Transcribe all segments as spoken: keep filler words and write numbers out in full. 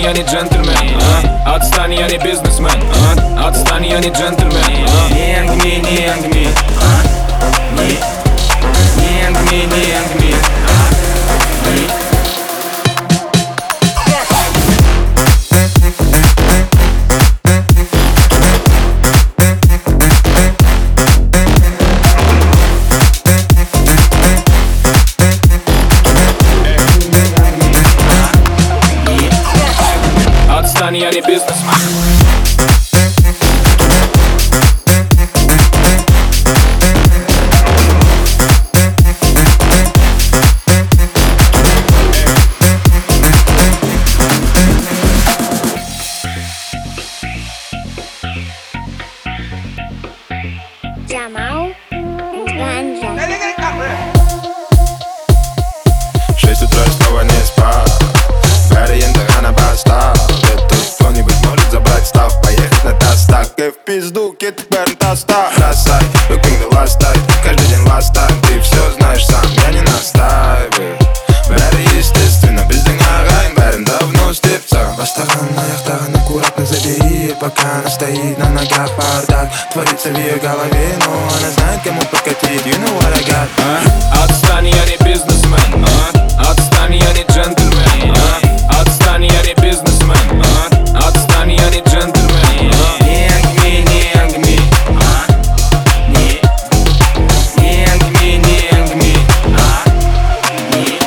я не джентльмен, а? Отстань, я не бизнесмен, а? Отстань, я не джентльмен, а? Не ангми, не ангми, а? Не, не ангми, не ангми, а? Не. Я не бизнесмен. Jamal Ganja. Шесть утра и снова не спал. Ориентир на постав. Кто-нибудь может забрать став, поехать на тастах. И в пизду, кит, берн, таста. Бросай, looking the last time. Каждый день last time. Ты все знаешь сам, я не настаиваю. Бэри, естественно, без дынгагайн. Бэрин давно степца. Бастаган на яхтаган, аккуратно забери. Пока она стоит на ногах, бардак творится в ее голове, но она знает, кому покатить. You know what I got, а? Отстань, я не бизнесмен, а? Отстань, я не джентльмен, а? Отстань, я не бизнесмен, а? Отстань, я не джентльмен, а? Не ангми, не ангми, а? Не, не ангми, не ангми, а? Не.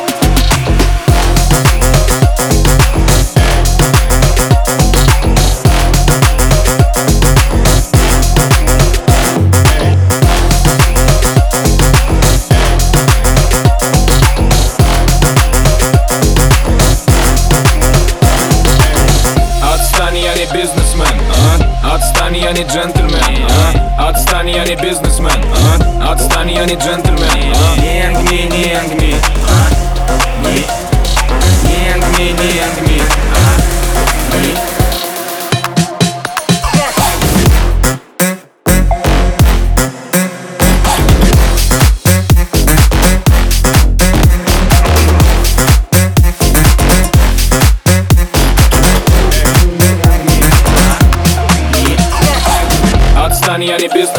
Я не бизнесмен, а? Отстань, я не джентльмен, а? Отстань, я не бизнесмен, а? Отстань, я не джентльмен, а? Не ангми, не ангми, а? Не, не ангми, не ангми, а? Не. Я не бизнес.